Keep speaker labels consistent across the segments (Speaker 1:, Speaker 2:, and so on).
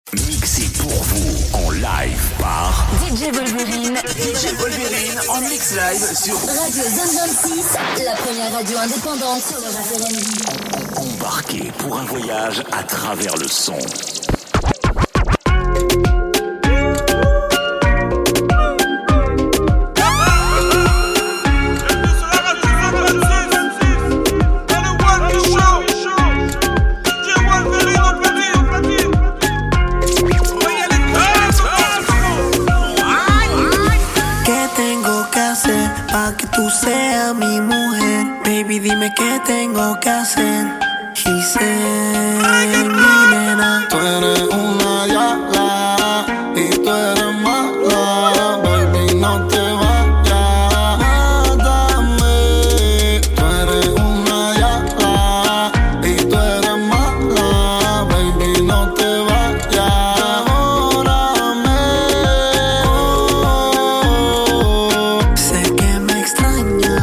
Speaker 1: Mixé pour vous en live par
Speaker 2: DJ Wolverine.
Speaker 1: DJ Wolverine en mix live sur
Speaker 2: Radio Zone 26, la première radio indépendante sur le rap R&B.
Speaker 1: Embarquez pour un voyage à travers le son.
Speaker 3: Que tú seas mi mujer, baby, dime qué tengo que hacer. Y sé, mi nena,
Speaker 4: tú eres una yala y tú eres mala, baby, no te vayas, mátame. Tú eres una yala y tú eres mala, baby, no te vayas, órame.
Speaker 3: sé que me extrañas.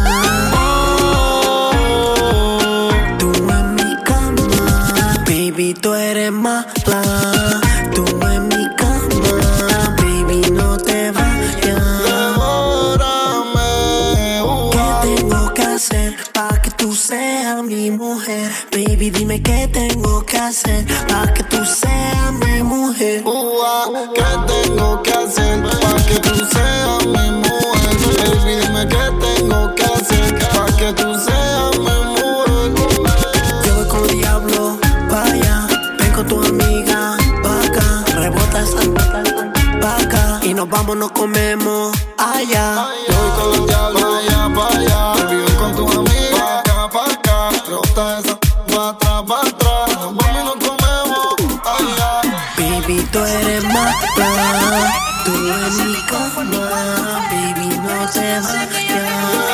Speaker 3: Tú en mi cama, baby, tú eres mala. Tú en mi cama, baby, no te vayas.
Speaker 4: Devórame,
Speaker 3: ¿Qué tengo que hacer para que tú seas mi mujer? Baby, dime qué tengo que hacer para que tú seas mi mujer.
Speaker 4: ¿qué tengo que hacer para que tú seas mi mujer? Baby, dime qué tengo que hacer para que tú seas mi mujer.
Speaker 3: Yo voy con diablo pa' allá, ven con tu amiga pa' acá, rebota esa pa' acá y nos vamos, nos comemos allá.
Speaker 4: Yo voy con los diablos allá para allá, baby, ven con tu amiga pa' acá, rebota esa pa' atrás, pa' atrás, nos vamos y nos comemos allá.
Speaker 3: Baby, tú eres mala, tú en mi cama, baby, no te vayas.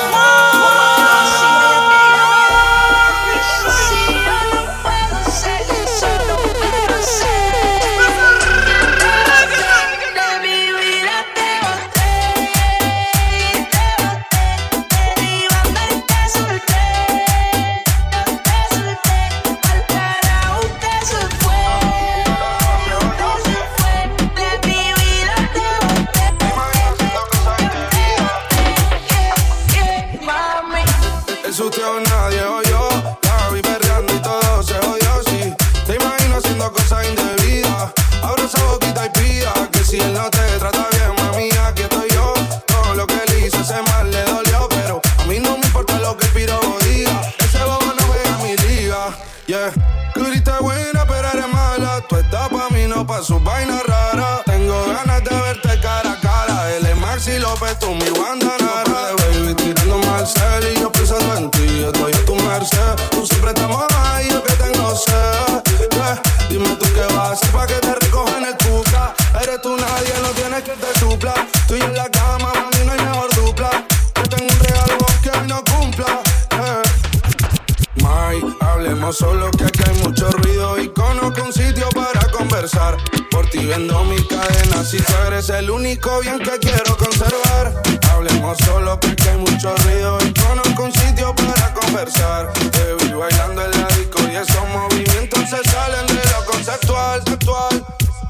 Speaker 5: Eso usted o nadie oyó, la vi perreando y todo se odió, sí. Te imagino haciendo cosas indebidas, abro esa boquita y pida que si él no te trata bien, mami, aquí estoy yo. Todo lo que él hizo ese mal le dolió, pero a mí no me importa lo que el piro diga. Ese bobo no juega en mi liga, yeah. Tú grita buena pero eres mala, tú estás pa' mí, no pa' sus vainas raras. Tengo ganas de verte cara a cara, él es Maxi López, tú mi Guandanara. Baby, tirando Marcel y yo pensando en ti, estoy a tu merced. Tú siempre estamos ahí, yo que tengo sed, yeah. Dime tú qué vas a hacer pa' que te recojan el cuca. Eres tú nadie, no tienes que te supla. Tú y en la cama, mami, no hay mejor dupla. Yo tengo un regalo que hoy no cumpla, yeah. May, hablemos solo que aquí hay mucho ruido y conozco un sitio para conversar. Por ti vendo mi cadena, si tú eres el único bien que quiero conservar. Hablemos solo que aquí hay mucho ruido y conozco un sitio para conversar. Te vi bailando en la disco y esos movimientos se salen de lo conceptual, sexual.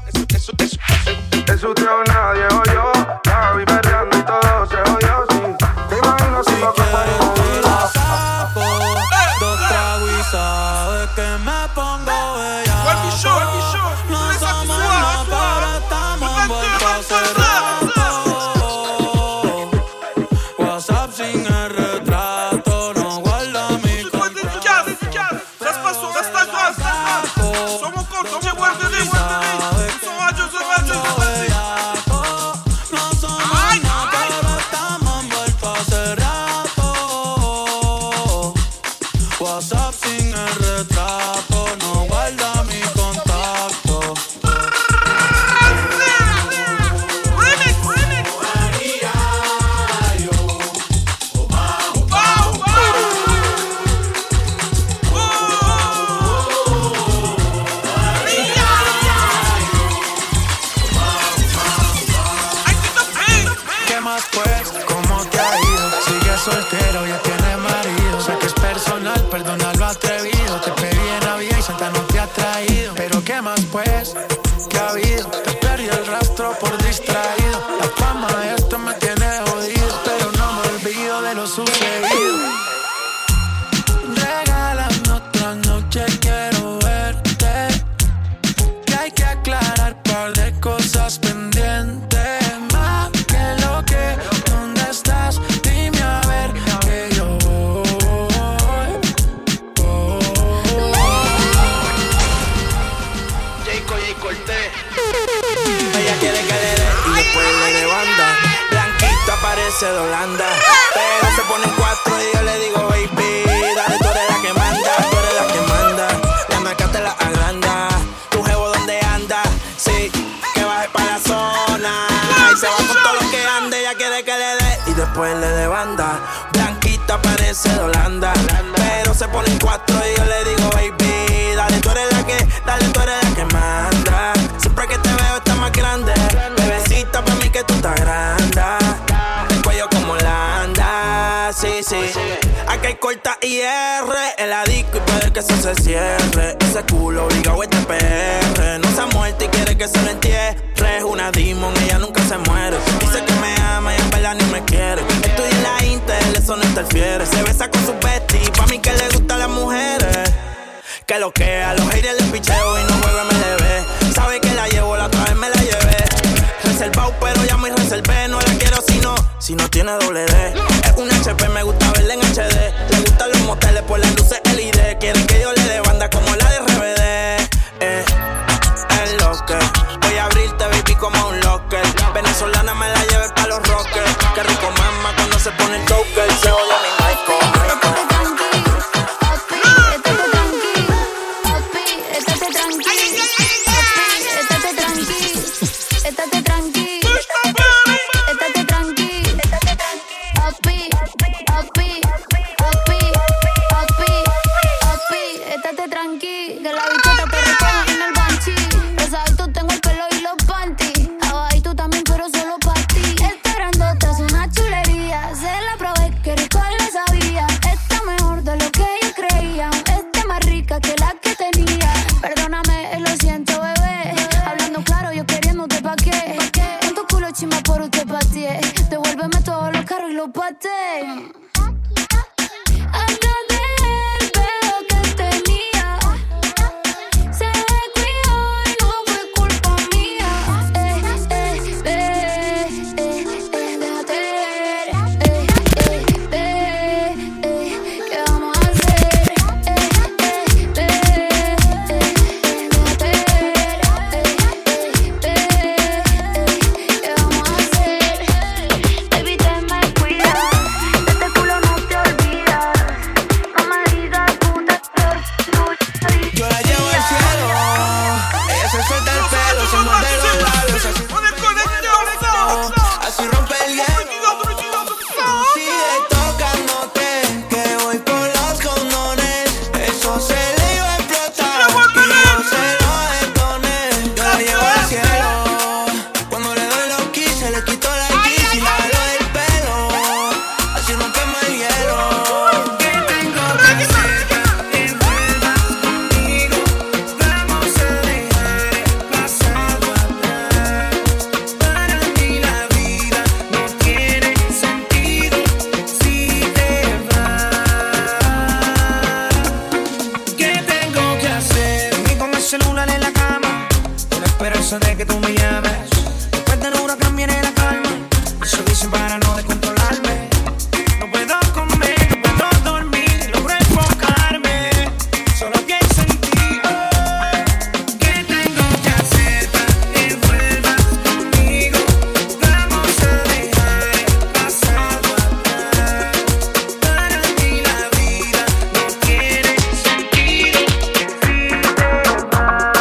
Speaker 5: Eso usted o nadie oyó, la vi perreando y todo se odió, sí. Te imagino haciendo cosas indebidas.
Speaker 6: Dos tragos y sabes que me pongo bella. No somos nada, pero estamos envueltos hace rato. WhatsApp sin el retrato, no guarda mi contrato. ¿qué ha habido? Te perdí el rastro por distraído. La fama de esto me tiene jodido, pero no me olvido de lo sucedido. Regálame otra noche, quiero verte. Que hay que aclarar un par de cosas pendientes. Más que lo que, ¿dónde estás? Dime a ver que yo voy.
Speaker 7: Jay Cortés. Ella quiere que le dé y después le dé banda. Blanquita parece de Holanda, pero se pone en 4 y yo le digo baby, dale, tú eres la que manda, tú eres la que manda. La marca te la agranda. Tu jevo donde anda, sí, que baje pa' la zona y se va con todo lo que ande. Ella quiere que le dé y después le dé banda. Blanquita parece de Holanda, pero se pone en 4 y yo le digo baby, dale, tú eres la que, dale, tú eres la que manda. Siempre que te veo estás más grande, bebecita, pa' mí que tú estás grande. El cuello como Holanda, sí, sí. Aquí hay corta y R, el adicto y puede que eso se cierre. Ese culo obligado este PR, no se ha muerto y quiere que se lo entierre. Es una demon, ella nunca se muere. Dice que me ama y en verdad ni me quiere. Estudia en la Intel, eso no interfiere. Se besa con su bestie, pa' mí que le gustan las mujeres. Que lo que a los haters les picheo y no juega MLB. Sabe que la llevo, la otra vez me la llevé. Reservado, pero ya me reservé. No la quiero si no tiene doble D. Es un HP, me gusta verla en HD. Le gustan los moteles por las luces LED. Quieren que yo le dé banda como la de RBD. Es lo que voy a abrirte, baby, como un locker. Venezolana me la lleve pa' los rockers. Qué rico mama cuando se pone el toker. Se odia mi Michael.
Speaker 8: Devuélveme todos los carros y los patés. Atrás del pedo que tenía, se descuidó y no fue culpa mía. Déjate ver, ¿qué vamos a hacer? Déjate ver, ¿qué vamos a hacer? Baby, te me cuidas, de este culo no te olvidas. No me digas puta,
Speaker 7: Yo la llevo al cielo, ella se suelta el pelo, se muerde los labios, así rompe el hielo. Sigue tocándote, que voy por los condones. Eso se le iba a explotar y yo se lo detoné. Yo la llevo al cielo, cuando le doy los keys se le quitó la X y la jalo del pelo. Así rompemos el hielo. ¿Qué tengo que hacer? Envuelva conmigo, vamos a dejar el pasado atrás. Para mí la vida no tiene sentido si te vas. ¿Qué tengo que hacer? Dormí con el celular en la cama, con la esperanza de que tú me llames. Después del huracán viene la calma, eso dicen para no descontrolarme. No puedo comer, no puedo dormir, logro enfocarme, solo pienso en ti. ¿Qué tengo que hacer para que vuelvas conmigo? Vamos a dejar el pasado atrás. Para mí la vida no tiene sentido si te vas.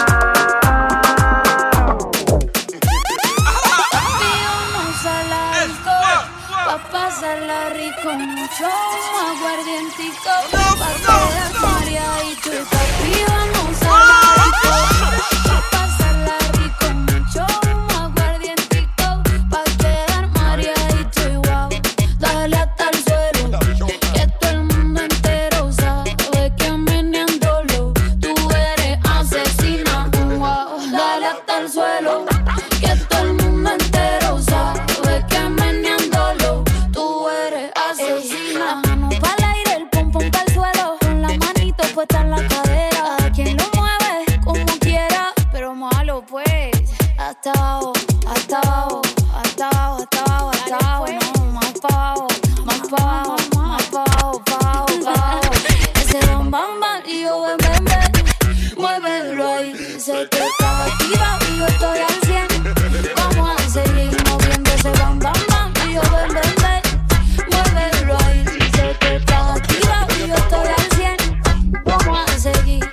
Speaker 8: Vamos a la disco, pa' pasarla rico, mucho aguardientico, pa' quedar mareadito. Y papi, vamos a la disco, pa' pasarla rico, mucho aguardientico, pa' quedar mareadito. Y wow, dale hasta el suelo, que todo el mundo entero sabe que meneándolo tú eres asesina. Wow, dale hasta el suelo. suelo. Que todo el mundo entero sabe que meneándolo tú eres asesina. La mano pa'l aire, el pum pum pa'l suelo. Con la manito puesta en la cadera. A quien lo mueve como quiera, pero malo pues. Hasta abajo, hasta abajo, hasta abajo, hasta abajo, hasta abajo. No, más pa' abajo, más pa' abajo, más pa' abajo, pa' abajo, pa' abajo. Ese bam bam bam y yo ven ven ven. Muévelo ahí, se te está activa y yo estoy al 100. Vamos a seguir moviendo ese bam bam bam y yo ven ven ven. Muévelo ahí, se te está activa y yo estoy al 100. Vamos a seguir.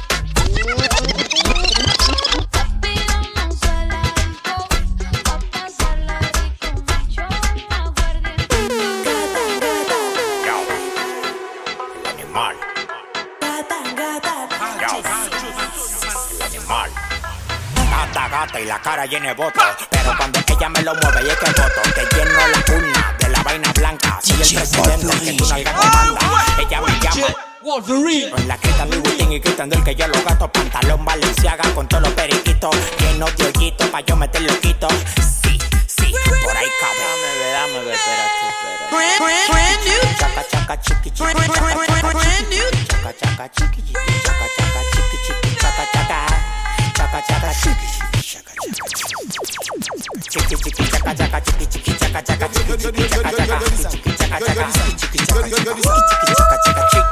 Speaker 9: Gata y la cara llena de votos, pero cuando ella me lo mueve y es que voto, te lleno la urna de la vaina blanca. Soy el presidente que tu nalga te manda. Ella me llama Wolverine. Con la crita Louis Vuitton y gritando el que yo lo gasto. Pantalón Balenciaga con todos los periquitos llenos de hoyitos pa' yo meter loquito. Sí, sí, por ahí cabe. Dame, espérate. Brand new. Chaca, chaca, chiqui, chiqui, chaca, chaca, brand new. Chaca, chaca, chiqui, chiqui, chaca, chaca, chiqui, chiqui, chaca, chaca. Chaca, chaca, chiqui, chiqui, chaca, chaca. Chiqui, chiqui, chaca, chaca, chiqui, chiqui, chaca, chaca, chiqui, chiqui, chaca, chaca, chiqui, chaca, chaca, chiqui, chiqui, chaca, chaca, chiqui, chaca, chaca, chiqui.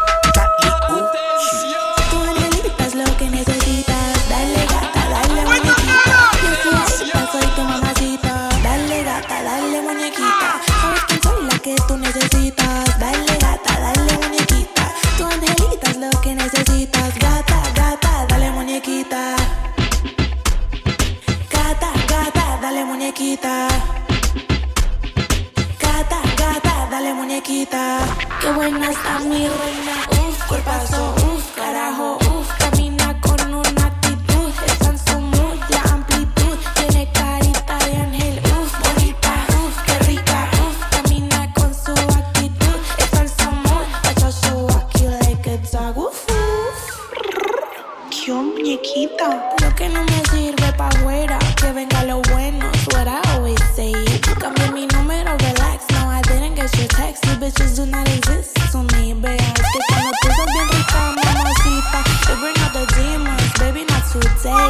Speaker 10: Tu angelita es lo que necesitas. Dale gata, dale muñequita. Yo soy tu mamacita. Dale gata, dale muñequita. Sabes que soy la que tú necesitas. Dale gata, dale muñequita. Tu angelita es lo que necesitas. Gata, gata, dale muñequita. Gata, gata, dale muñequita. Gata, gata, dale muñequita. Qué buena está mi reina. Uf, cuerpazo, uf, carajo, uf. Camina con una actitud. Está en su mood, la amplitud. Tiene carita de ángel, uf, bonita, uf, qué rica, uf. Camina con su actitud. Está en su mood, watch out, so aquí like a dog, uf, uf. Qué muñequita. Lo que no me sirve pa' afuera, que venga lo bueno, es what I always say. Cambié mi número, relax, no, I didn't get your text. You bitches do not exist to me, babe. Es que cuando tú sos bien rica, mamacita, you bring out the demons, baby, not today.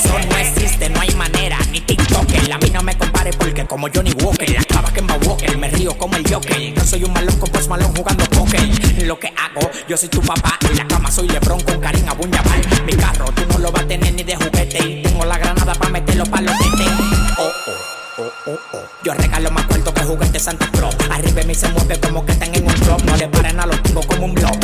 Speaker 9: Como Johnny Walker, la clava que me Walker, me frío como el Joker. Yo soy un malón con Post Malone jugando póker. Lo que hago, yo soy tu papá. En la cama soy LeBron con Karim Abdul-Jabbar. Mi carro tú no lo vas a tener ni de juguete. Y tengo la granada pa' meterlo pa' los tetes. Yo regalo más cuarto que juguete Santa Claus. Arriba me se mueve como que están en un club. No le paren a los tingos como un blob.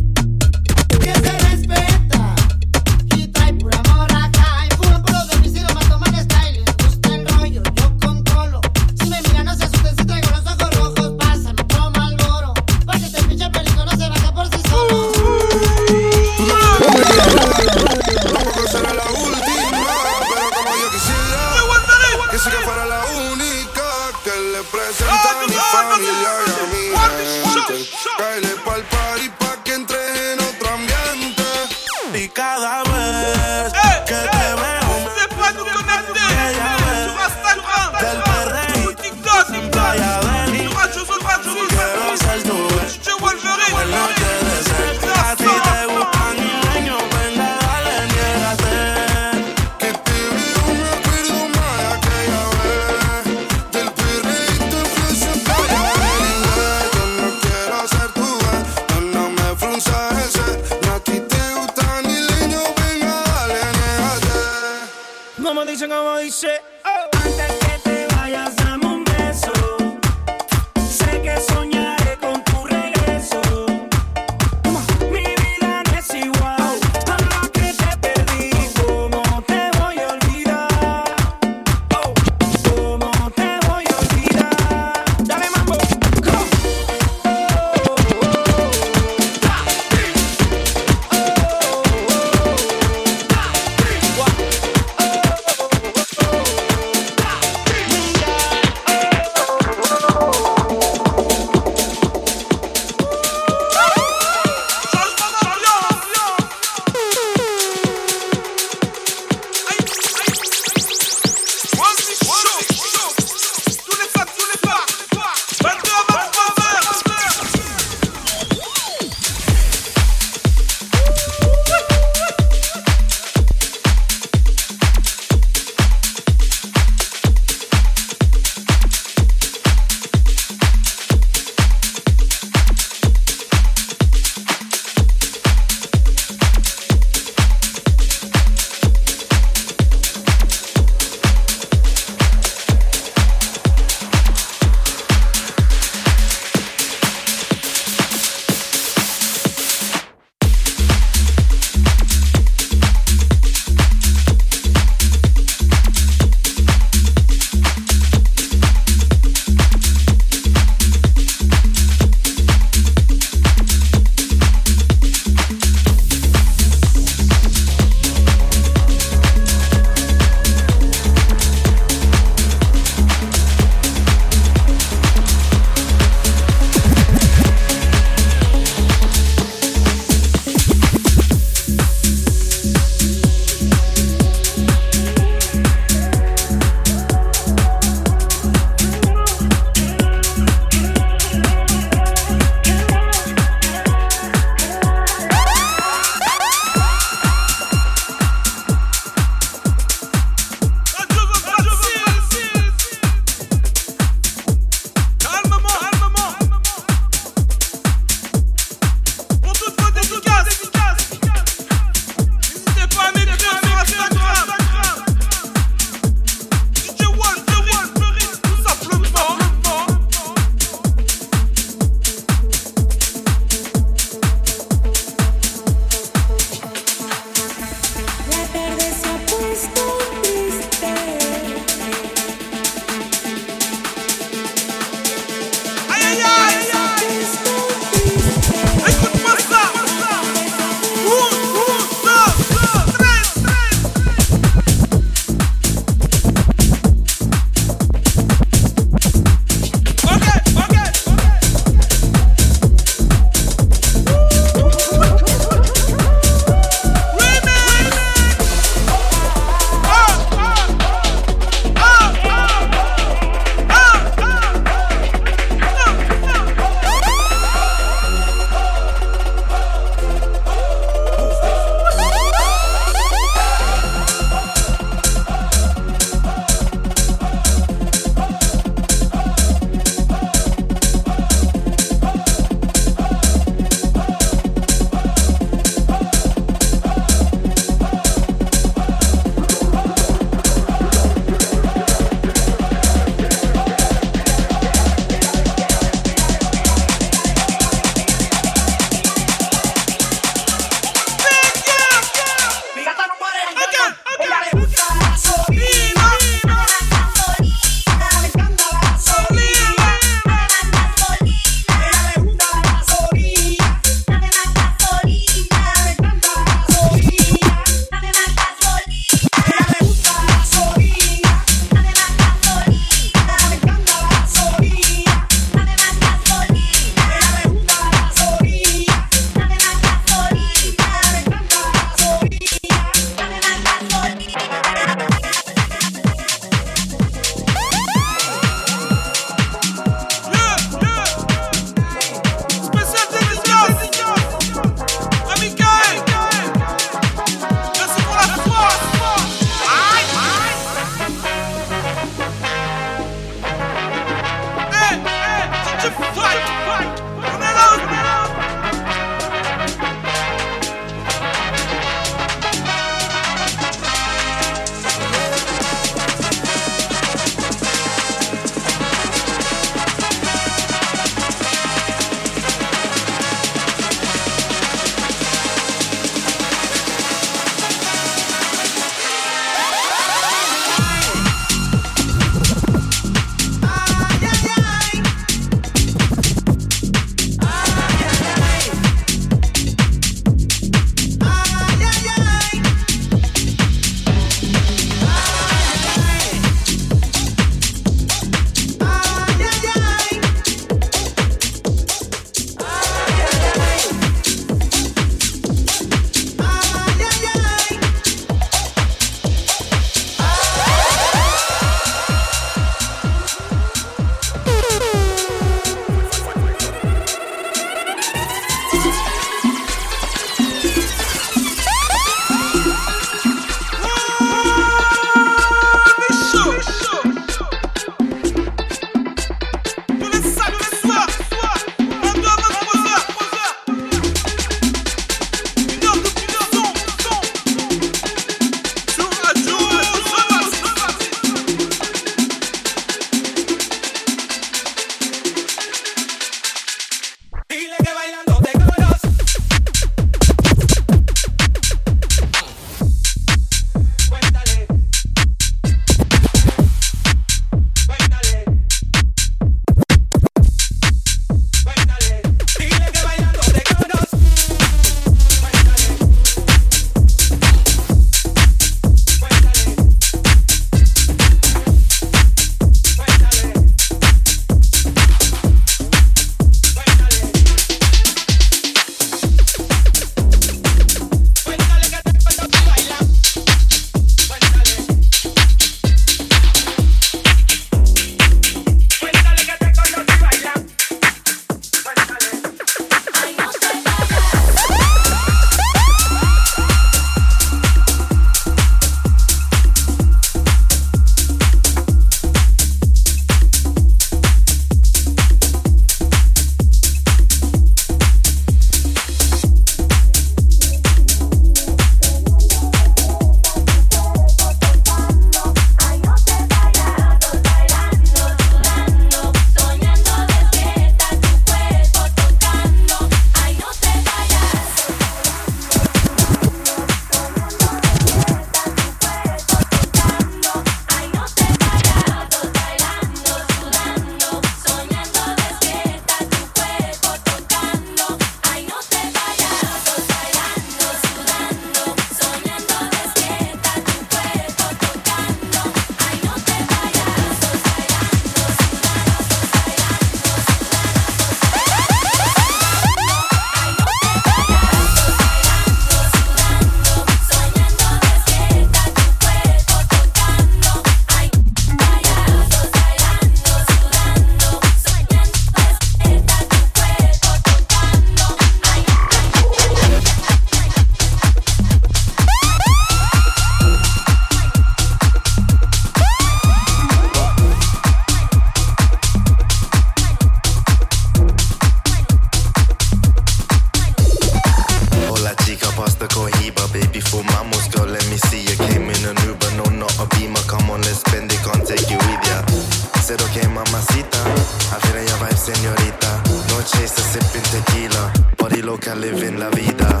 Speaker 11: said, okay, mamacita. I feel your vibe, señorita. No chaser, sipping tequila. Body loca, living la vida.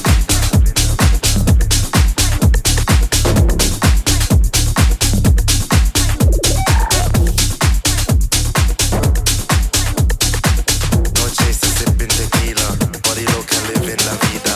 Speaker 11: No chaser, sipping tequila. Body loca, living la vida.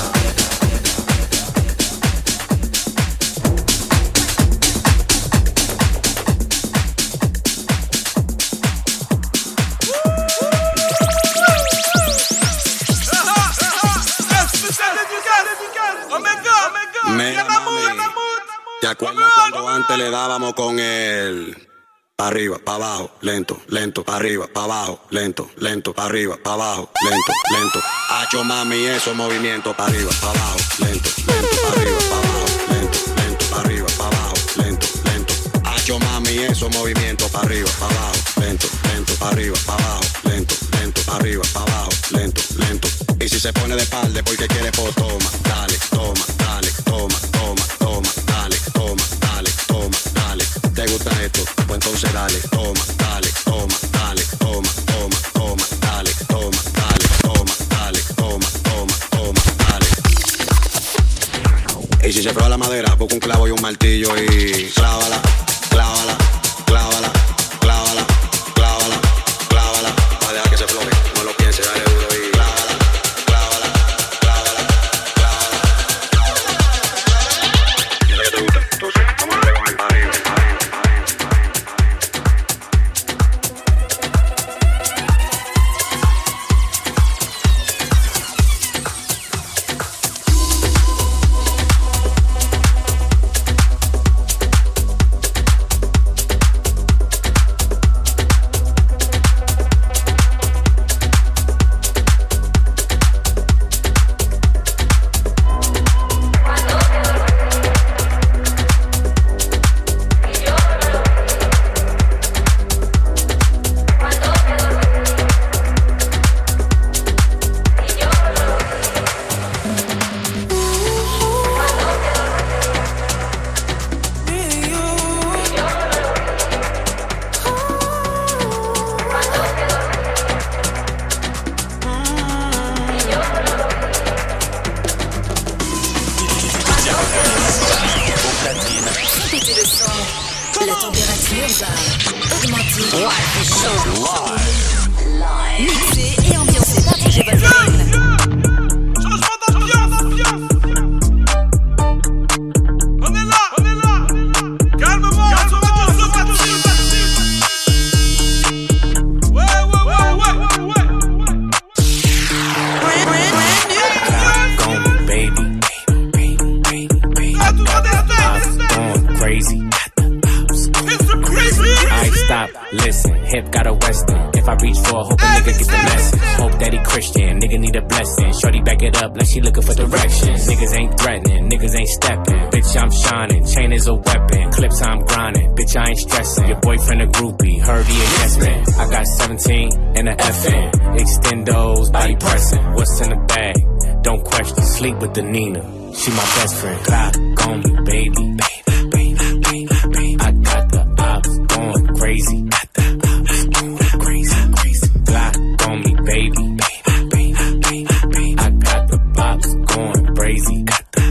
Speaker 12: ¿Te acuerdas cuando antes le dábamos con el pa' arriba, pa' abajo, lento, lento, pa' arriba, pa' abajo, lento, lento, pa' arriba, pa' abajo, lento, lento? Hacho mami, esos movimientos pa' arriba, pa' abajo, lento, lento, pa' arriba, pa' abajo, lento, lento, pa' arriba, pa' abajo, lento, lento. Hacho mami, esos movimientos pa' arriba, pa' abajo, lento, lento, pa' arriba, pa' abajo, lento, lento, pa' arriba, pa' abajo, lento, lento. Y si se pone de espalda porque quiere, pues toma, dale, toma, dale, toma, toma, toma, dale, toma, dale, toma, dale. ¿Te gusta esto? Pues entonces dale, toma, dale, toma, dale, toma, toma, toma, dale, toma, dale, toma, dale, toma, toma, toma, dale. Y si se prueba la madera, busca un clavo y un martillo y clávala, clávala, clávala, clávala, clávala, clávala. Va a dejar que se floje, no lo piense, dale duro y clávala, clávala, clávala, clávala. Yo sé que te gusta, entonces vamos a darle con el arriba,
Speaker 2: La température va augmenter. Mixé et ambiancé par DJ Wolverine.
Speaker 5: Changement d'ambiance. On est là. Calmement. Ouais.
Speaker 13: Gone, baby. Going crazy. Alright, stop, listen, hip got a western. If I reach for a hope a nigga get the message. Hope that he Christian, nigga need a blessing. Shorty back it up like she looking for directions. Niggas ain't threatening, niggas ain't stepping. Bitch, I'm shining, chain is a weapon. Clips I'm grinding, bitch, I ain't stressing. Your boyfriend a groupie, heard he a yes man. I got 17 and a FN. Extendos, body pressing. What's in the bag? Don't question, sleep with the Nina. She my best friend. Clock on me, baby. I got the ops going crazy. Glock on me, baby. I got the pops going crazy.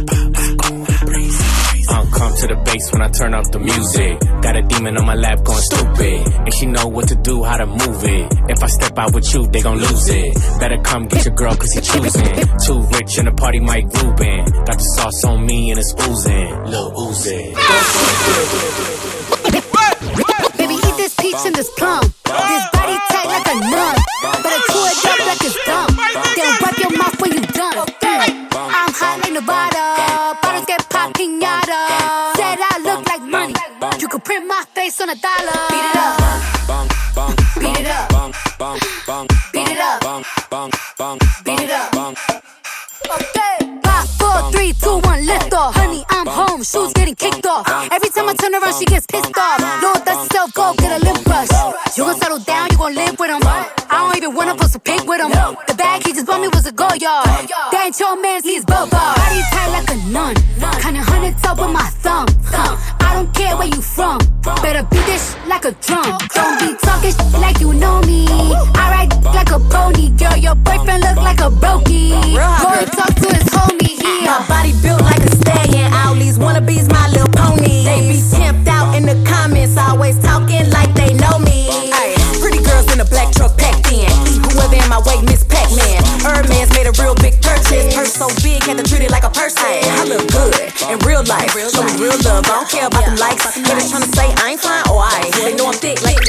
Speaker 13: Come to the bass when I turn up the music. Got a demon on my lap going stupid, and she know what to do, how to move it. If I step out with you, they gon' lose it. Better come get your girl, cause he choosing. Too rich in the party, Mike Rubin. Got the sauce on me and it's oozing. Lil Uzi.
Speaker 14: Baby, eat this peach and this plum. This body tight like a nun. Better chew it up like it's gum. Then wipe your mouth when you done. I'm hot like Nevada. Bottles get popped, piñata. Said I look like money. You could print my face on $1. Beat it up. Beat it up. Beat it up. Beat it up. Okay. 5, 4, 3, 2, 1, lift off. Honey, I'm home. Shoes getting kicked off. Every time I turn around, she gets pissed off. Lord, that's yourself, go get a lip brush. You gon' settle down, you gon' live with him. I don't even wanna post a pic with him. The bag he just bought me was a go yard. That ain't your man's, he's bubba. Body tight like a nun. Kinda 100 up with my thumb. I don't care where you from. Better beat this like a drum. Don't be talking like you know me. I ride like a pony. Girl, your boyfriend look like a brokey. Go and talk to his homie here.
Speaker 15: My body built like a stallion. All these wannabes, my little pony. They be pimped out in the comments, always talking like they know me. Ay, pretty girls in a black truck packed in. Eat whoever in my way, Miss Pac-Man. Herman's made a real big purchase. Purse so big, had to treat it like a person. I look good in real life. Show me real love. I don't care about them likes. Haters tryna say I ain't fine or I ain't. They know I'm thick like.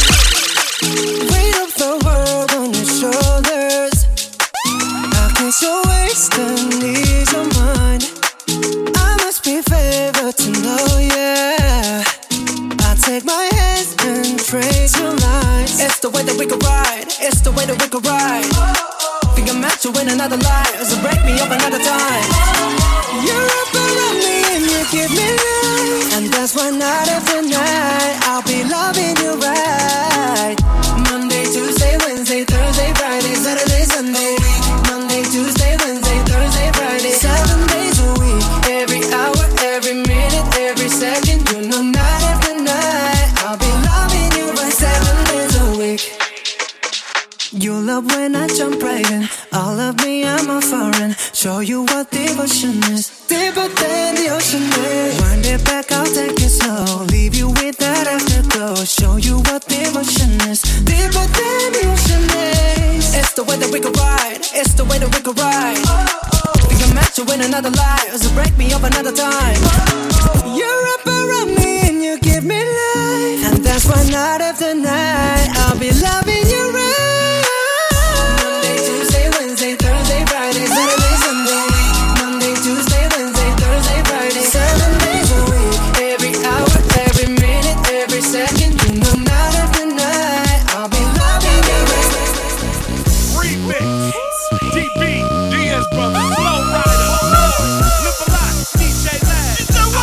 Speaker 16: Weight of the world on your shoulders. How can you waste and ease your mind? I must be favored to know, yeah. I take my hands and trace your lines. It's the way that we could ride. It's the way that we could ride. Think I'm meant to win another life, so break me up another time. You're up around me and you give me life, and that's why night after night I'll be loving you right. Monday, Tuesday, Wednesday, Thursday, Friday, Saturday, Sunday. Monday, Tuesday, Wednesday, Thursday, Friday, 7 days a week. Every hour, every minute, every second. You know night after night I'll be loving you right 7 days a week. You love when I jump right in. All of me, I'm a foreign. Show you what devotion is. Deeper than the ocean is. Wind it back, I'll take it slow. Leave you with that afterglow. Show you what devotion is. Deeper than the ocean is. It's the way that we could ride. It's the way that we could ride. Think I'm meant to win another life, so break me up another time. You're up around me and you give me life, and that's why night after night I'll be loving you right. Monday, Tuesday, Wednesday, Thursday, Friday, Saturday, Sunday. Monday, Tuesday, Wednesday, Thursday, Friday, 7 days a week. Every hour, every minute, every second. You know night after night I'll be loving you right.
Speaker 17: Remix, DB, DS Brothers, Flow Rider, Nipalot, DJ Lad.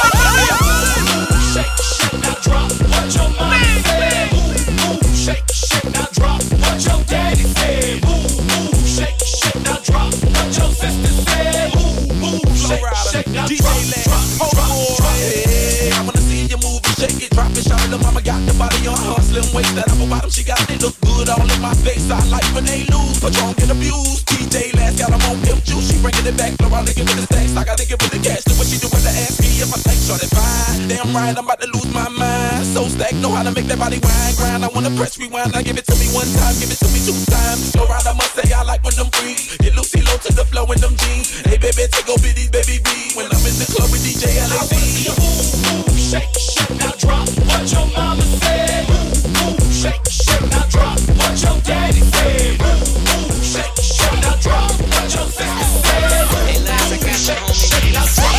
Speaker 17: Shake, shake, now drop what your mama said. Ooh, shake, shake, now drop what your daddy said. Ooh, shake, shake, now drop what your sister said. Ooh, shake, shake, now drop. Hey, I wanna see you move and shake it, drop it, shout it. Little mama got the body on her slim waist, that apple bottom she got it look good all in my face. I like when they lose, but you don't get abused. DJ Last got them on pimp juice, she bringing it back. Flow around and give me the stacks, I gotta give her the cash. Do what she do when they ask me if I take short and fine. Damn right, I'm about to lose my mind. So stack, know how to make that body wine grind. I wanna press rewind, now give it to me one time, give it to me 2 times. Flow around, I must say I like when them breathe. Get Lucy low to the flow in them jeans. Hey baby, take over these baby B. When I'm in the club with DJ LAZ. Ooh, shake, shake, now drop what your mama said. Ooh, shake, shake, now drop what your daddy said. Ooh, shake, shake, now drop what your sister said. Hey lads, I got you, homie. Now drop.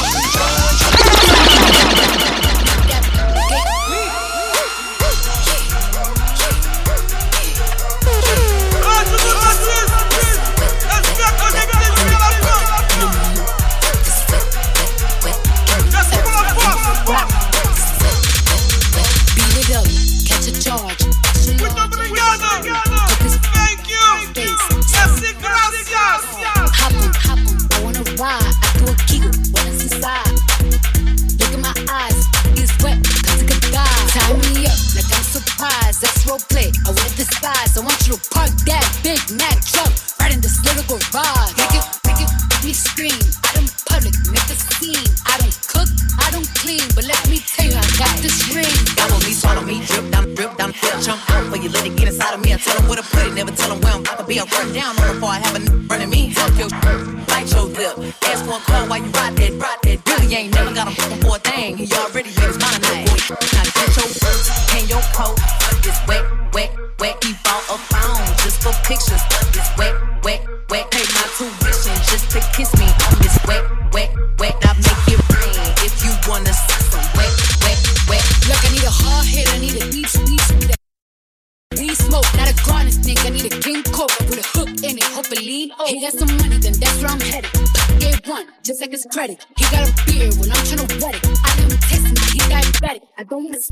Speaker 8: I want you to park that Big Mac truck right in this lyrical garage. Make me scream. I don't public, make a scene. I don't cook, I don't clean, but let me tell you, I got this ring.
Speaker 15: Gobble me, swallow me, drip down, flip, chunk out for you. Let it get inside of me. I tell them where to put it, never tell them where I'm about to be. I run down on before I have a running me. Fuck your bite your lip. Ask for a call while you ride that. Really ain't never got him fucking for a thing. He already made his mind night. Now get your and your coat. It's wet. He bought a phone just for pictures. It's wet. Pay my tuition just to kiss me. It's wet. I make it rain if you wanna see some wet.
Speaker 8: Look, I need a hard hit. I need a deep weed smoke, not a garden snake. I need a king cobra with a hook in it. Hopefully, he got some money, then that's where I'm headed. Gave one, just like his credit. He got a beard when I'm tryna wet it. I let him taste me, he diabetic. I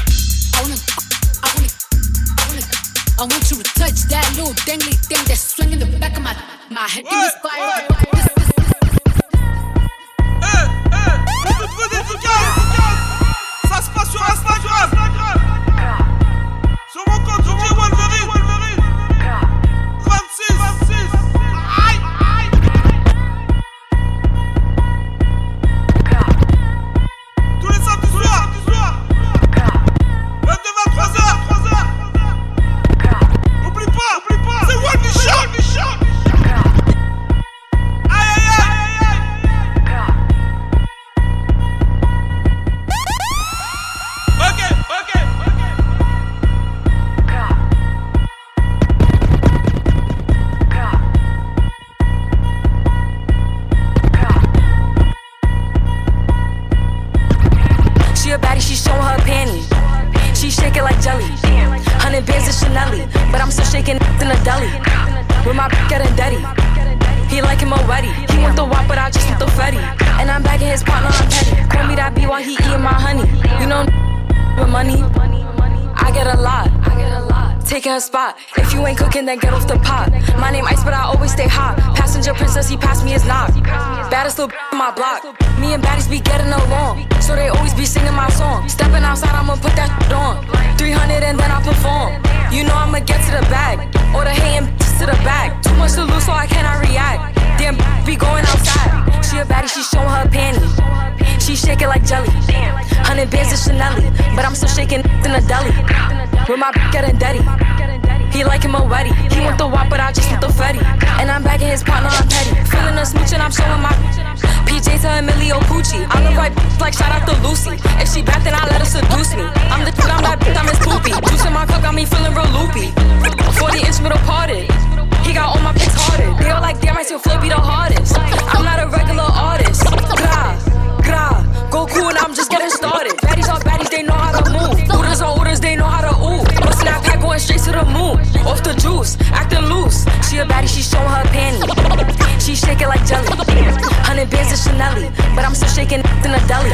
Speaker 8: want you to touch that little dangly thing that's swinging the back of my head. Give me fire.
Speaker 5: sur Instagram. Sur mon compte DJ Wolverine. 26. Aïe. Tous les samedis soirs. 22-23h. Oublie pas, c'est Wolverine Show.
Speaker 18: But I'm still shaking in the deli with my getting dirty. He like him already. He want the wop, but I just want the fatty. And I'm back in his partner, I'm petty. Call me that B while he eating my honey. You know, with money, I get a lot. Taking her spot. If you ain't cooking, then get off the pot. My name Ice, but I always stay hot. Passenger princess, he passed me his knock. Baddest little in my block. Me and baddies be getting along, so they always be singing my song. Stepping outside, I'ma put that on. 300 and then I perform. You know I'ma get to the bag, or the hating to the back. Too much to lose, so I cannot react. Damn, be going outside. She a baddie, she showing her panties. She shake it like jelly. 100 bands of Chanel, but I'm still shaking in the deli with my getting dirty. He like him already. He want the wop, but I just want the fatty. And I'm back in his partner, I'm petty. Feeling a smooch and I'm showing my PJ to Emilio Pucci. I look right like shout out to Lucy. If she bad, then I let her seduce me. I'm the I'm that I'm his poopy. Juice in my cup got me feeling real loopy. 40-inch middle parted. He got all my pics hearted. They all like, damn, I still flow be the hardest. I'm not a regular artist. Gra, Goku and I'm just getting started. Baddies are baddies, they know how to move. Orders are orders, they know how to ooh. No snap pack going straight to the moon. Off the juice, acting loose. She a baddie, she showing her panties. She shake it like jelly. 100 bands of Chanel, but I'm still shaking in the deli.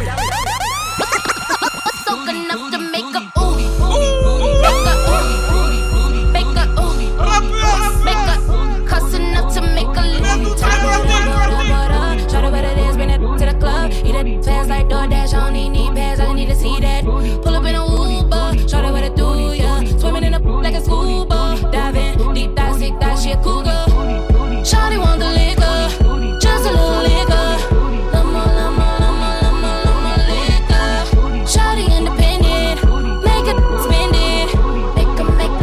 Speaker 8: Soak enough to make a ooh. Make a ooh. Make a ooh. Make a cuss enough to make a little. Show the what it is, bring it to the club. Eat it fast like DoorDash, I don't need pads, I need to see that. Pull up in a Uber, show the what it do, yeah. Swimming in a pool like a scuba. Dive in, deep dive, sick dive, she a cougar. Shawty want the liquor, just a little liquor. Shawty independent, make it spend it. Make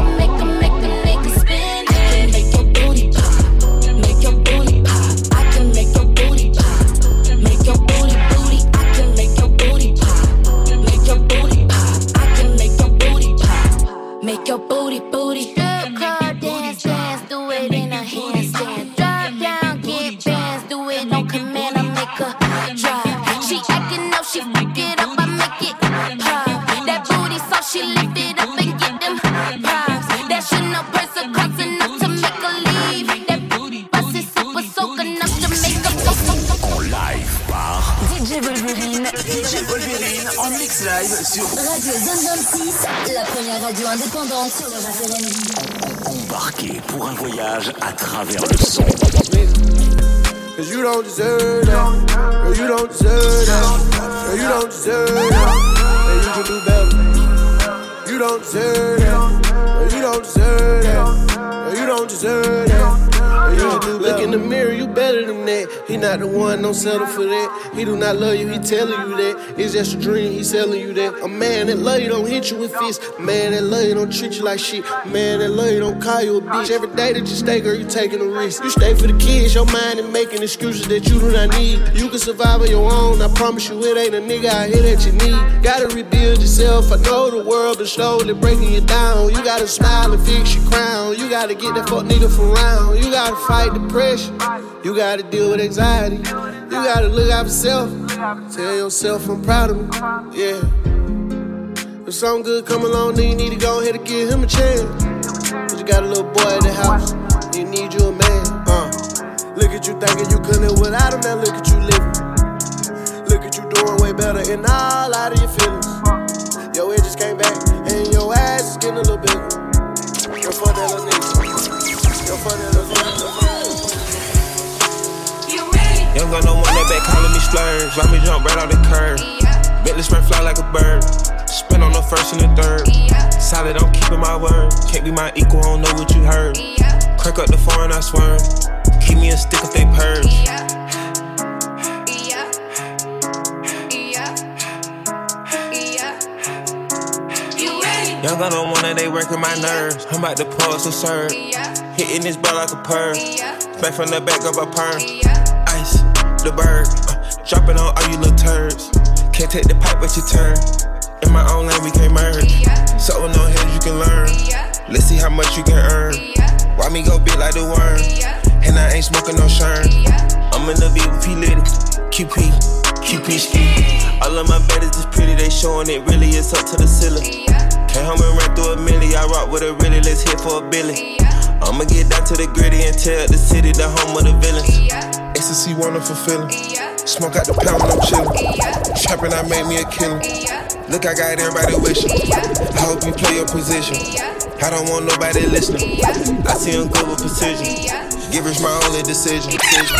Speaker 8: it spend it. I can make your booty pop, make your booty pop. I can make your booty pop, make your booty. I can make your booty pop, make your booty pop. I can make your booty pop, make your booty. Strip club, dance, do it in a handstand. Drop down, get bands, do it on command. I make her drop. She acting up, she fuck it up. That booty so she lift it up and get them props. That Chanel purse a cost enough to make her leave. That booty bust is super soak enough to make her go.
Speaker 1: En live par
Speaker 2: DJ Wolverine.
Speaker 1: DJ Wolverine en mix live sur
Speaker 2: Radio Zone 26, la première radio indépendante sur le rap R&B.
Speaker 1: Embarquez pour un voyage à travers le son.
Speaker 4: Cause you don't deserve that. Girl, you don't deserve that. Girl, you don't deserve that. And you can do better. You don't deserve that. Girl, you don't deserve that. Girl, you don't deserve that. Look in the mirror, you better than that. He not the one, don't settle for that. He do not love you, he telling you that. It's just a dream, he selling you that. A man that love you don't hit you with fists. A man that love you don't treat you like shit. A man that love you don't call you a bitch. Every day that you stay, girl, you taking a risk. You stay for the kids, your mind and making excuses that you do not need. You can survive on your own, I promise you it ain't a nigga out here that you need. Gotta rebuild yourself, I know the world is slowly breaking you down. You gotta smile and fix your crown. You gotta get that fuck nigga from round. You gotta fight depression. You gotta deal with anxiety. You gotta look out for self. Tell yourself I'm proud of me. Yeah. If something good come along, then you need to go ahead and give him a chance. Cause you got a little boy at the house. You need you a man. Look at you thinking you couldn't live without him. Now look at you living. Look at you doing way better and all out of your feelings. Your edges came back and your ass is getting a little bigger. Yo, fuck that little nigga. Yo, fuck that little nigga.
Speaker 19: Young gun no one that back calling me splurge. Let me jump right off the curb. Bentley sprint fly like a bird.
Speaker 5: spent on the first and the third. Solid, I'm keeping my word. Can't be my equal, I don't know what you heard. Crack up the foreign, I swerve. Keep me a stick if they purge. Young gun on one and they working my nerves. I'm about to pause and serve. Hitting this ball like a perm. Back from the back of a perm. Ice, the bird. Dropping on all you little turds. Can't take the pipe but you turn. In my own lane we can't merge. So with no heads you can learn. Let's see how much you can earn. Why me go big like the worm? And I ain't smoking no shern. I'm in the VIP litty. QP ski. All of my baddies is pretty, they showing it really, it's up to the ceiling. Came home and ran through a milli, I rock with a really, let's hit for a billy. I'ma get down to the gritty and tell the city the home of the villains. Ecstasy wonderful feeling. Smoke out the pound when I'm chillin'. Trappin', I made me a killer. Look, I got everybody wishing. I hope you play your position. I don't want nobody listening. I see them good with precision. Give us my only decision.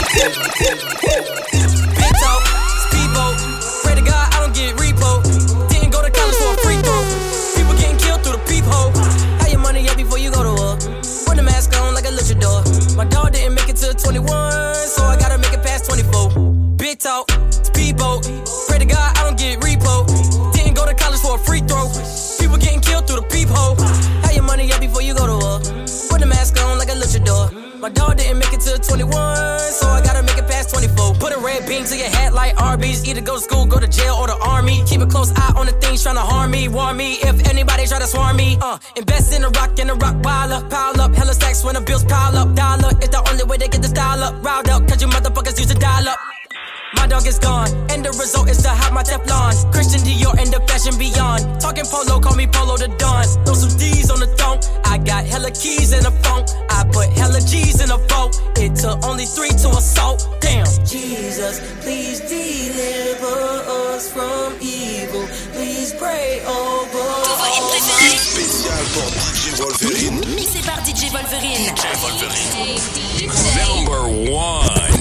Speaker 19: Big talk, speedboat. Pray to God I don't get repo. Didn't go to college for a free throw. People getting killed through the peephole. Have your money up before you go to war. Put the mask on like a luchador. My dog didn't make it to 21, so I gotta make it past 24. Big talk, speedboat. Pray to God I don't get repo. Didn't go to college for a free throw. People getting killed through the peephole. Have your money up before you go to war. Put the mask on like a luchador. My dog didn't make it to 21, so I gotta make it past 24. Put a red beam to your head like Arby's. Either go to school, go to jail, or the army. Keep a close eye on the things trying to harm me. Warn me if anybody try to swarm me. Invest in a rock pile up. Pile up, hella stacks when the bills pile up. Dollar, it's the only way to get the style up. Riled up, cause you motherfuckers use to dial up. My dog is gone, and the result is to have my Teflon. Christian Dior and the fashion beyond. Talking polo, call me Polo the Don. Throw some D's on the thong. I got hella keys in a phone. I put hella G's in a vote. It took only 3 to assault. Damn. Jesus, please deliver us from evil. Please pray over us.
Speaker 1: Spécial pour DJ Wolverine.
Speaker 2: Mixé par DJ Wolverine.
Speaker 1: Number 1.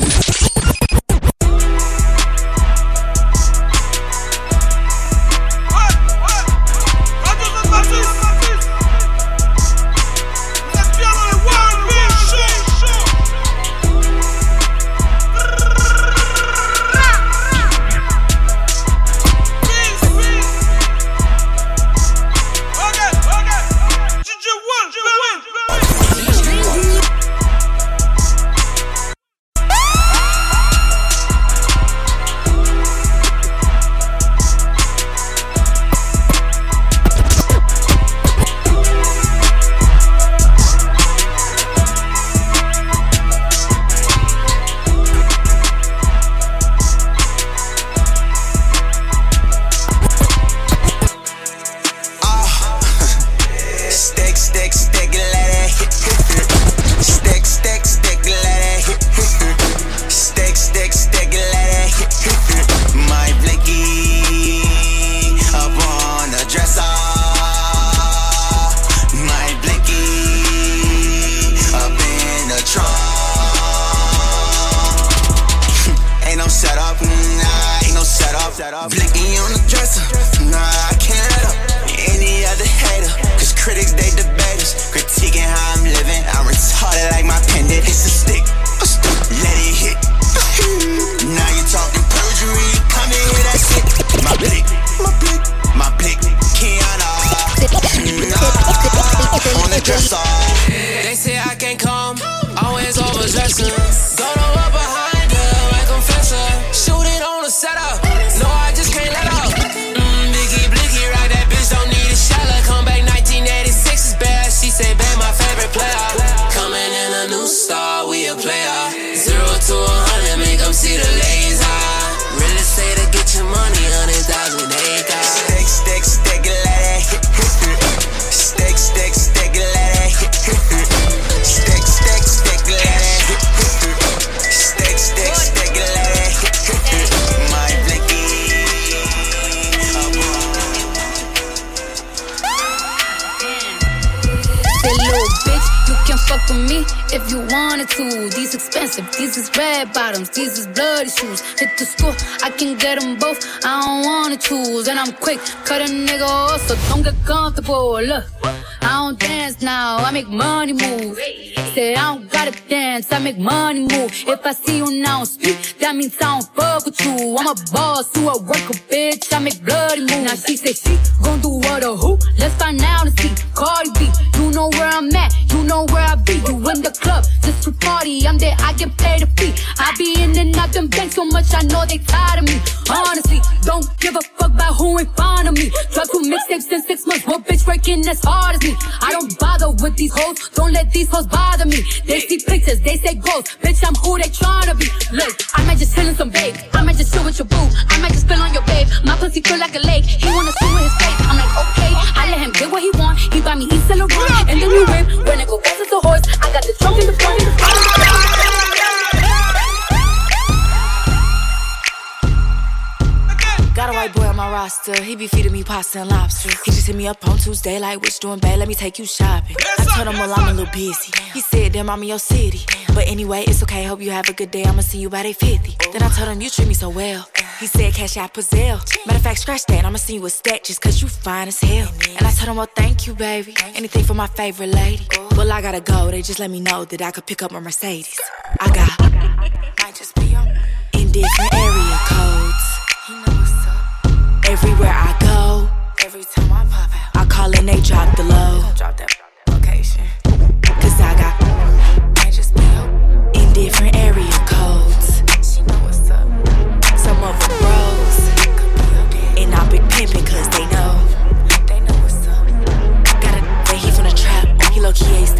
Speaker 20: Blicky on the dresser, nah, I can't let up any other hater. Cause critics, they debate us, critiquing how I'm living. I'm retarded like my pendant. It's a stick, let it hit. Now you talking perjury, come and hear that shit. My blick, Kiana. On the dresser.
Speaker 19: They say I can't come, always overdressing. Don't know what behind her, like confessor. Shooting on the setup, no, I just can't let up. Blicky, rock that bitch, don't need a shelter. Come back 1986 is bad, she say, babe, my favorite player. Coming in a new star, we a player. 0 to 100, make them see the laser. Real estate to get your money, 100,000 acres.
Speaker 20: Stick, let it hit. Stick, let it hit. Stick, let it hit.
Speaker 8: fuck with me if you wanted to. These expensive, these is red bottoms, these is bloody shoes. Hit the school, I can get them both, I don't wanna choose. And I'm quick, cut a nigga off, so don't get comfortable. Look, I don't dance now, I make money move. Say I don't gotta dance, I make money move. If I see you now speak, that means I don't fuck with you. I'm a boss, you a worker, bitch, I make bloody moves. Now she say she gon' do what or who? Let's find out and see. Cardi B, you know where I'm at, you know where I be. You in the club, just to party, I'm there, I get paid a fee. I be in and out them banks so much, I know they tired of me. Honestly, don't give a fuck about who in front of me. Drop 2 mixtapes in 6 months, what bitch working as hard as me? I don't bother with these hoes, don't let these hoes bother me. They see pictures, they say ghosts, bitch I'm who they tryna be. Look, I might just chill in some babe, I might just chill with your boo, I might just spill on your babe. My pussy feel like a lake, he wanna swim with his face. I'm like okay, I let him get what he want, he buy me East Saint Laurent and the new whip. When I go fast as a horse, I got the trunk in the front of the front.
Speaker 18: Got a white boy on my roster, he be feeding me pasta and lobster. He just hit me up on Tuesday like, what you doing, babe? Let me take you shopping. I told him, well, I'm a little busy. He said, damn, I'm in your city. But anyway, it's okay, hope you have a good day. I'ma see you by day 50. Then I told him, you treat me so well. He said, cash out Pazelle. Matter of fact, scratch that, I'ma see you a stack just cause you fine as hell. And I told him, well, thank you, baby. Anything for my favorite lady. Well, I gotta go, they just let me know that I could pick up my Mercedes. I got, might just be in different area codes. Everywhere I go, every time I pop out, I call and they drop the low. Drop that location. Cause I got, might just be in different area codes. She know what's up. Some of them bros, and I big pimpin' cause they know what's up. Got a he from the trap, he low-key aced.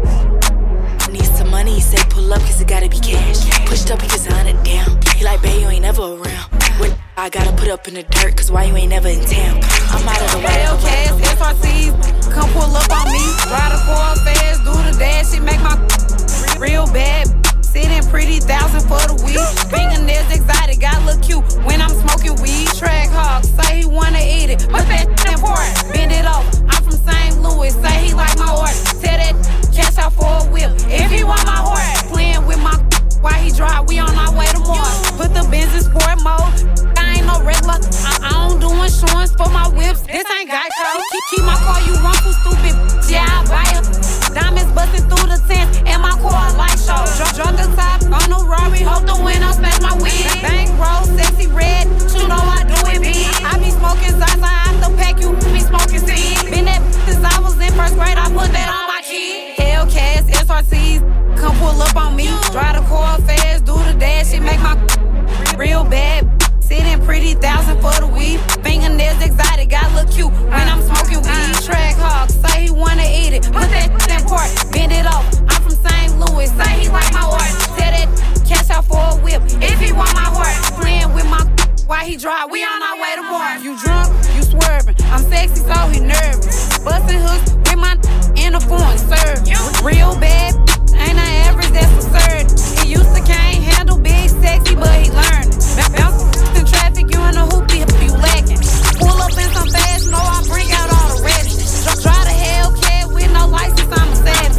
Speaker 18: Need some money, he say pull up cause it gotta be cash. Pushed up, he just on it down. He like, babe, you ain't never around. When I gotta put up in the dirt, cause why you ain't never in town? I'm out of the way.
Speaker 21: Hellcats, FRCs, come pull up on me. Ride a car fast, do the dash, it make my real bad. Sitting pretty, 1,000 for the weed. Fingernails exotic, I look cute when I'm smoking weed. Track hog, say he wanna eat it, but that important. Bend it over, I'm from St. Louis, say he like my horse. Tell that cash out for a whip, if he want my horse. Playing with my while he drive, we on our way to Mars. Put the Benz in sport mode, I ain't no regular. I don't do insurance for my whips, this ain't Geico. Keep my car, you run for stupid, yeah, I buy it. Diamonds busting through the tent, and my car light show. Drunk the top on the Rari, hope the window smash my wig. Bank roll, sexy red, you know I do it big. I be smoking Zaza out the pack, you be smoking seed. Been that since I was in first grade, I put that on my kid. Hellcats, SRCs, come pull up on me. Drive the car fast, do the dash, it make my real bad. Sitting pretty, 1,000 for the weed. Fingernails exotic, I look cute when I'm smoking weed. Track hog, say he wanna eat it, put that in port, bend it off. I'm from St. Louis, say he like my horse. Tell that cash out for a whip, if he want my horse. Playing with my while he drive, we on our way to Mars. You drunk, you swerving, I'm sexy, so he nervous. Bustin' hooks with my in the foreign serve. Real bad, ain't an average, that's absurd. He used to can't handle big sexy, but he learned. Bounce in traffic, you in a hoopty, you lacking. Pull up in some fast, know I bring out all the rest. Drive the Hellcat with no license, I'm a savage.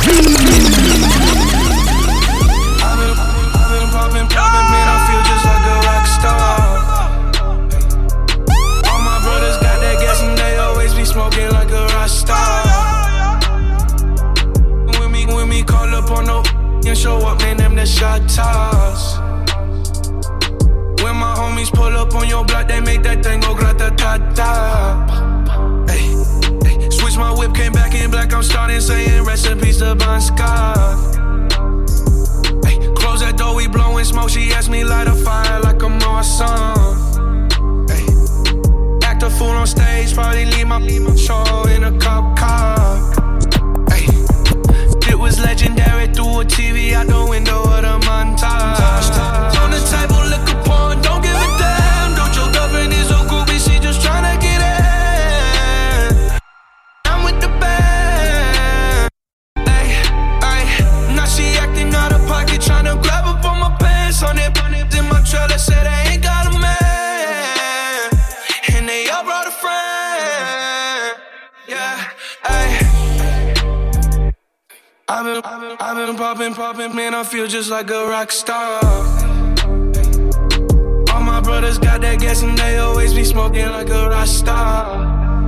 Speaker 5: I've been poppin', man, I feel just like a rock star. All my brothers got that gas and they always be smoking like a rock star. When me call up on no and show up, man, them the shot toss. When my homies pull up on your block, they make that thing go grata-ta-ta. Hey, switch my whip, came back in black, I'm starting saying recipes to Bon Scott. Hey, close that door, we blowing smoke, she asked me light a fire like I'm on some. Hey, act a fool on stage, probably leave my show in a cop car. Hey, it was legendary through a TV out the window of the montage. On the table, liquor porn, don't give a damn. Don't your girlfriend is so groovy, she just tryna get in. I'm with the band. I've been popping, man, I feel just like a rock star. All my brothers got that gas and they always be smoking like a rock star.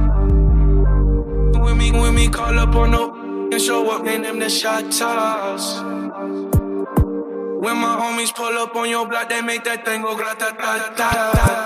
Speaker 5: When me call up on no and show up, name them the shot toss. When my homies pull up on your block, they make that thing go grata-ta-ta.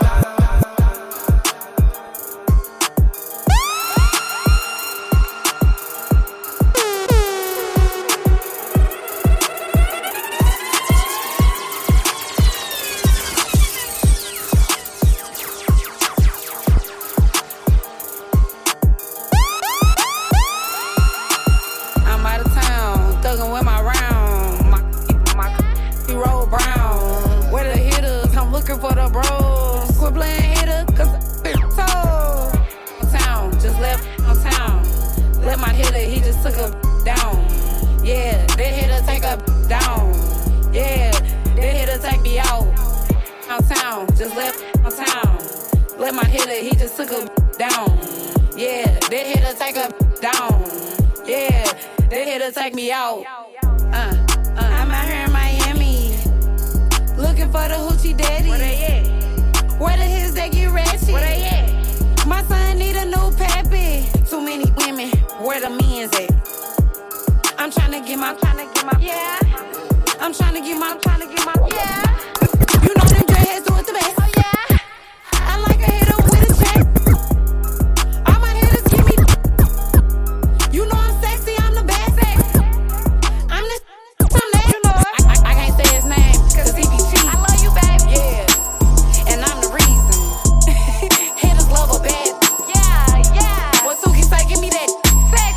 Speaker 21: For the bros, quit playing hitter, cause told. Town, just left town. Let my hitter, he just took a down. Yeah, that hitter take a down. Yeah, that hitter take me out. Town, just left town. Let my hitter, he just took a down. Yeah, that hitter take a down. Yeah, that hitter take me out. I'm out here in Miami. Looking for the hoochie daddy. Where they at? Where the his they get ratchet? Where they at? My son need a new pappy. Too many women. Where the men's at? I'm tryna get my, yeah. I'm tryna get my, yeah. You know them dreadheads do it the best. Oh yeah. I like a hitter with a check. All my hitters give me. You know I'm sexy, I'm the best. I'm the. I'm that. You know I can't say his name. Cause he be cheating. I love you, baby. Yeah. And I'm the reason. Hitters love a bad. Yeah. What Suki say? Give me that sex.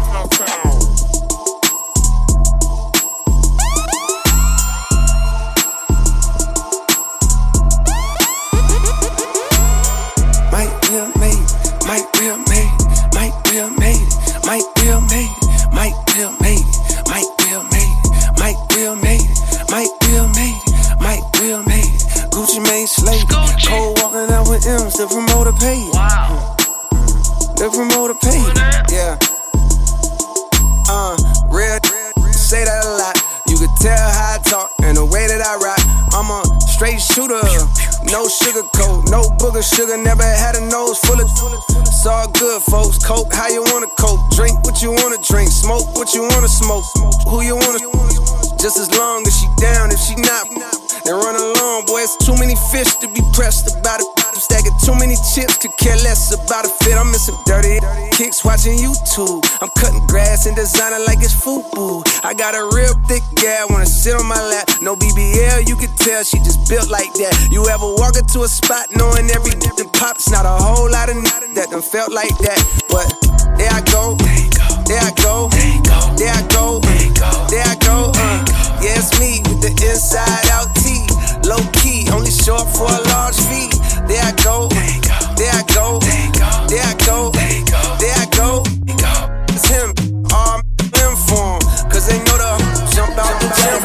Speaker 5: Might be a maid, might be a maid, might be a maid, might be a maid, might be a maid, might be a maid, might be a maid, might be a maid, might be a maid. Gucci Mane slave, cold walking out with M's, the promoter paid. Wow. The promoter paid. Yeah. Real say that a lot. You could tell how I talk and the way that I rock. I'm a straight shooter, no sugar coat, no booger sugar. Never had a nose full of. It's all good, folks. Coke, how you wanna coke? Drink what you wanna drink. Smoke what you wanna smoke. Who you wanna? Just as long as she down. If she not, then run along, boy. It's too many fish to be pressed about it. I'm stacking too many chips, could care less about a fit. I'm missing dirty kicks watching YouTube. I'm cutting grass and designing like it's FUBU. I got a real thick gal, wanna sit on my lap. No BBL, you can tell she just built like that. You ever walk into a spot knowing every dip that pops? Not a whole lot of that done felt like that. But there I go, there I go, there I go, there I go. Yeah, it's me with the inside out tee. Low key, only short for a large fee. There I go, there I go, there I go, there I go. It's him, all I'm for him. Cause they know the jump out the gym.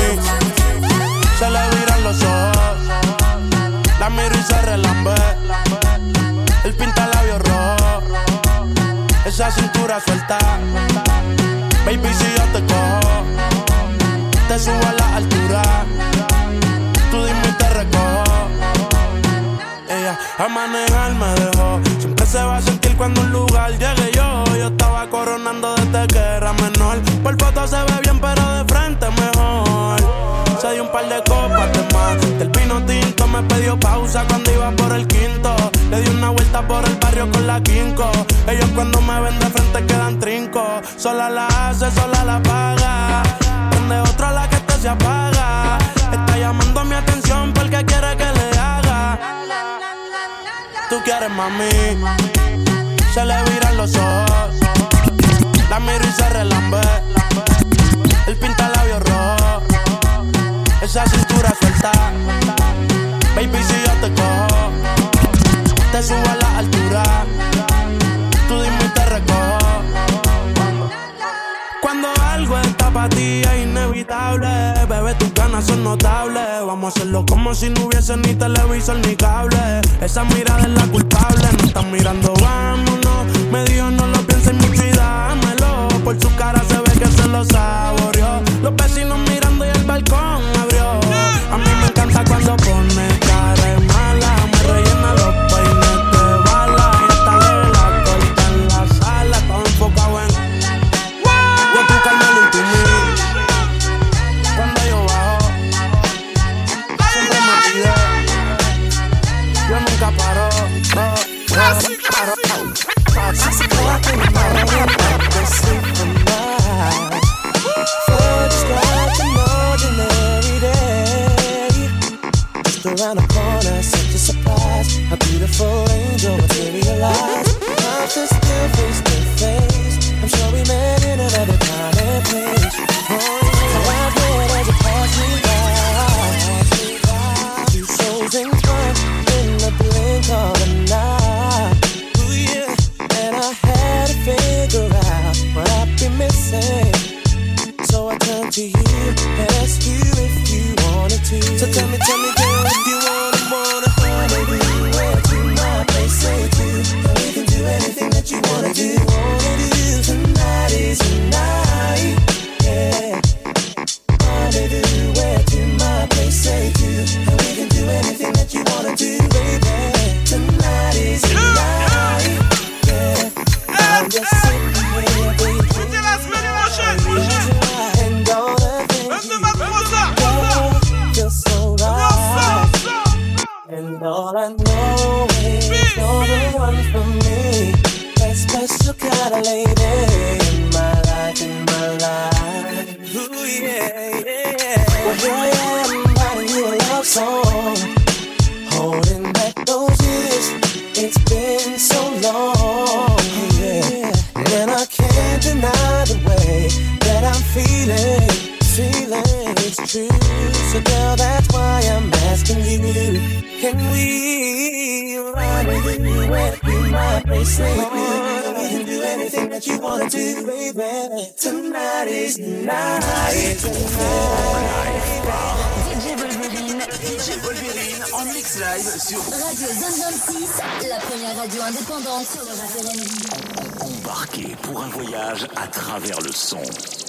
Speaker 3: Se le viran los ojos, la miro y se relambe. Él pinta labios rojos, esa cintura suelta. Baby, si yo te cojo, te subo a la altura. Tú dime y te recojo. Ella a manejar me dejó. Siempre se va a sentir cuando un lugar llegue yo. Yo estaba coronando desde que era menor. Por foto se ve bien, pero de frente mejor. Se dio un par de copas de más. Del vino tinto me pidió pausa cuando iba por el quinto. Le di una vuelta por el barrio con la quinco. Ellos cuando me ven de frente quedan trinco. Sola la hace, sola la paga. Prende otra la que esto se apaga. Está llamando mi atención porque quiere que le haga. Tú quieres, mami. Se le viran los ojos. La miro y se relambe. Él pinta labios rojos. Esa cintura suelta. Baby, si yo te cojo, te subo a la altura. Tú dime y te recojo. Cuando algo está para ti es inevitable. Bebé, tus ganas son notables. Vamos a hacerlo como si no hubiese ni televisor ni cable. Esa mirada es la culpable. No están mirando, vámonos. Me dijo no lo pienses mucho y dámelo. Por su cara se ve que
Speaker 16: Tell me, girl, if you wanna rendezvous, where to my place, say to. And we can do anything that you wanna do. Tonight is the night, yeah. Rendezvous, where to my place, say to. And we can do anything that you wanna do, baby. Tonight is the night, yeah. I'm just sitting here, baby. And all the things you do feel so right. And all I know is you're the one for me. That special kind of lady in my life, Ooh, yeah, yeah. Well, here I am writing you a love song, holding back those years. It's been so long, yeah. And I can't deny the way that I'm feeling it's true. So girl, that's why I'm asking you, can we rendezvous where you might place with me? We can do anything that you wanna do, baby. Tonight is the night.
Speaker 1: DJ Wolverine en mix live sur
Speaker 2: Radio Zone 26, la première radio indépendante sur le rap R&B.
Speaker 1: Embarqué pour un voyage à travers le son.